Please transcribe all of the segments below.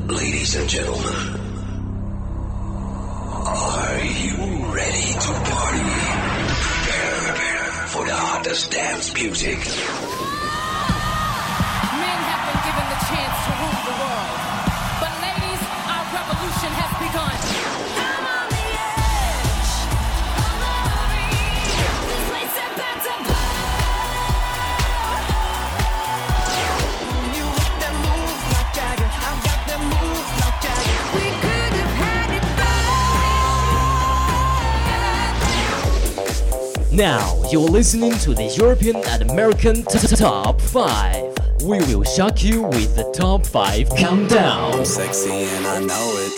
Ladies and gentlemen, are you ready to party? Prepare for the hottest dance music. Men have been given the chance to rule the world. But ladies, our revolution has begun. I'm on the edge of glory. This place is about to blow. You got that move like Jagger. I've got that move like Jagger. We could have had it both. Now you're listening to the European and American Top 5. We will shock you with the Top 5 Countdown. I'm sexy and I know it.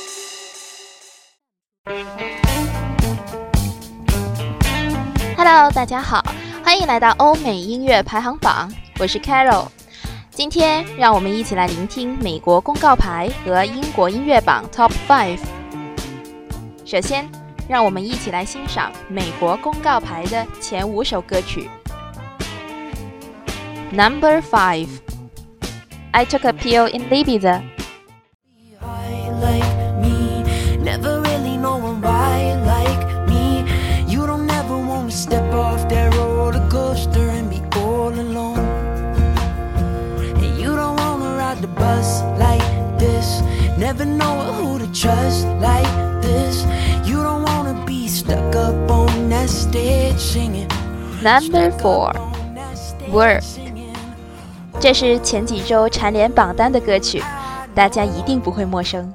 Hello， 大家好，欢迎来到欧美音乐排行榜，我是 Carol。今天让我们一起来聆听美国公告牌和英国音乐榜 Top 5。首先，让我们一起来欣赏美国公告牌的前5首歌曲。Number 5 I Took a Pill in Ibiza. Like me, never really knowing why like me. You don't ever want to step off that roller coaster and be all alone. And you don't want to ride the bus like this, never know who to trust like this. You don't want to be stuck up on that stage singing. Number 4 Work. 这是前几周蝉联榜单的歌曲，大家一定不会陌生。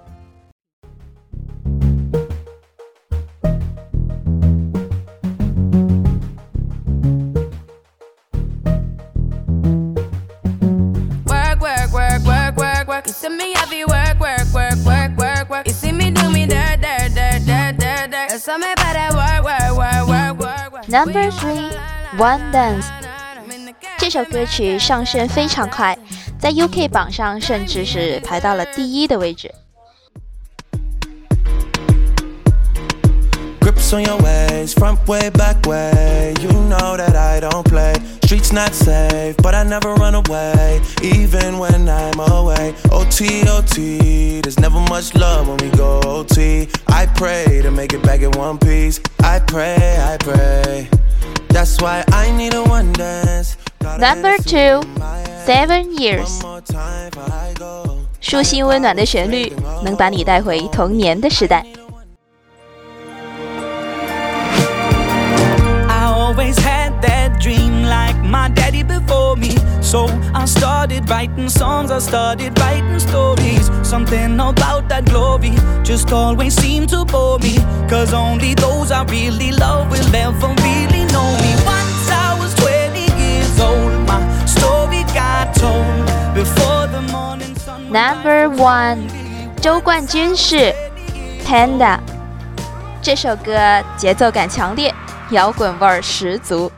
Work, work, work, work, work, work. You see me heavy work, work, work, work, work, work. You see me do me dirt, dirt, dirt, dirt, dirt, dirt. You saw me by that work, work, work, work, work, work. Number 3 One Dance. 这首歌曲上升非常快，在 UK 榜上甚至是排到了第1的位置。 Grips on your ways, front way, back way. You know that I don't play. Streets not safe, but I never run away, even when I'm away. OT, OT, there's never much love when we go OT. I pray to make it back in one piece. I pray, I pray. That's why I need a one dance. Number 2 7 Years. 舒心温暖的旋律，能把你带回童年的时代。 Always had that dream like my daddy before me. So I started writing songs, I started writing stories. Something about that glory just always seemed to bore me. Cause only those I really love will ever really know me. Once I was 20 years old, my story got told before the morning sun. Number 1周冠军是 Panda。 这首歌节奏感强烈，摇滚味儿十足。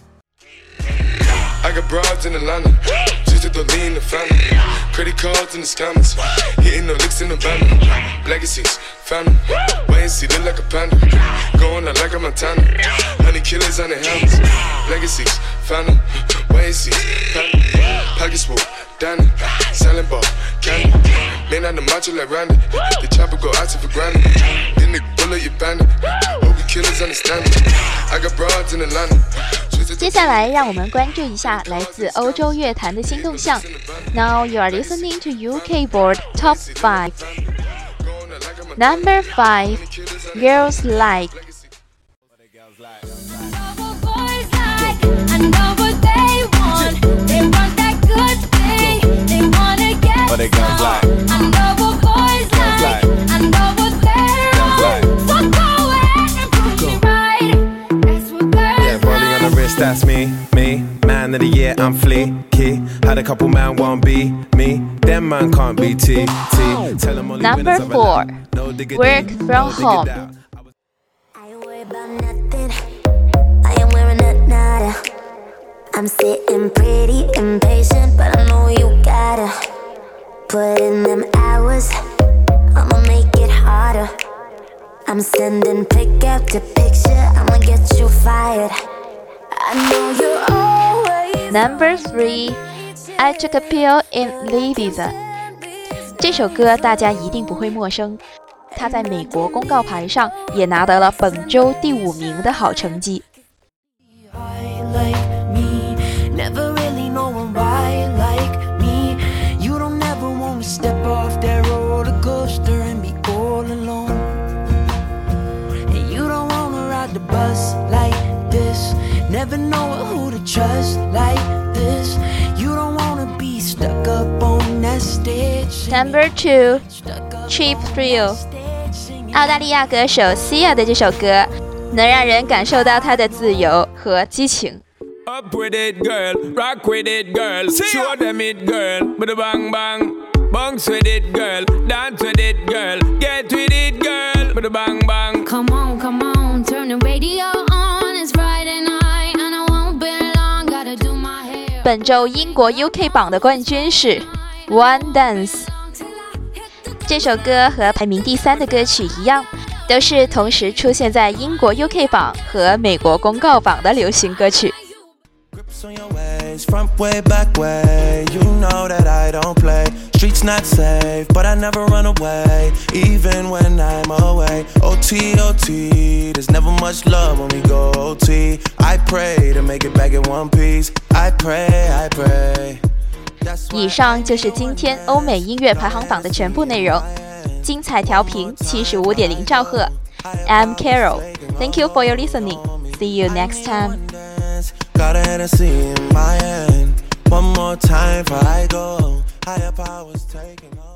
I got broads in Atlanta, just to lean the family. Credit cards in the scammers, hitting the licks in the van. Legacies, family, wait and see, look like a panda. Going out like a Montana, honey killers on the helmets. Legacies, family, wait and see, panda. Pockets full, Danny, selling ball, candy. Man on the macho like Randy, the chopper go out to for granted. Then the bullet you bandit, hope the killers understand it. I got broads in Atlanta. 接下来让我们关注一下来自欧洲乐坛的新动向。Now you are listening to UK Board Top 5. Number 5 Girls Like. What they girls like? That's me, man of the year, I'm fleeky. Had a couple man won't be me, them man can't be T. Tell them only Number 4 Work From Home. I ain't worried about nothing, I am wearing a nada. I'm sitting pretty impatient, but I know you gotta put in them hours, I'ma make it harder. I'm sending pick after picture, I'ma get you fired. I know you're always Number 3 I Took a Pill in Ibiza. 这首歌大家一定不会陌生，它在美国公告牌上也拿得了本周第5名的好成绩。 Never know who to trust like this. You don't wanna be stuck up on that stage. Number 2, Cheap Thrill。澳大利亚歌手 Sia 的这首歌，能让人感受到她的自由和激情。 Up with it, girl. Rock with it, girl. Show them it, girl. With a bang bang. Bounce with it, girl. Dance with it, girl. Get with it, girl. With a bang bang. Come on, come on, turn the radio on. It's Friday night. 本周英国 UK 榜的冠军是 One Dance。 这首歌和排名第3的歌曲一样，都是同时出现在英国 UK 榜和美国公告榜的流行歌曲。 Front way, back way, you know that I don't play. Streets not safe, but I never run away, even when I'm away. OT, OT, there's never much love when we go OT. I pray to make it back in one piece. I pray, I pray. 以上就是今天欧美音乐排行榜的全部内容。精彩调频75.0兆赫。I'm Carol. Thank you for your listening. See you next time. Got a Hennessy in my hand. One more time before I go. Higher powers taking over.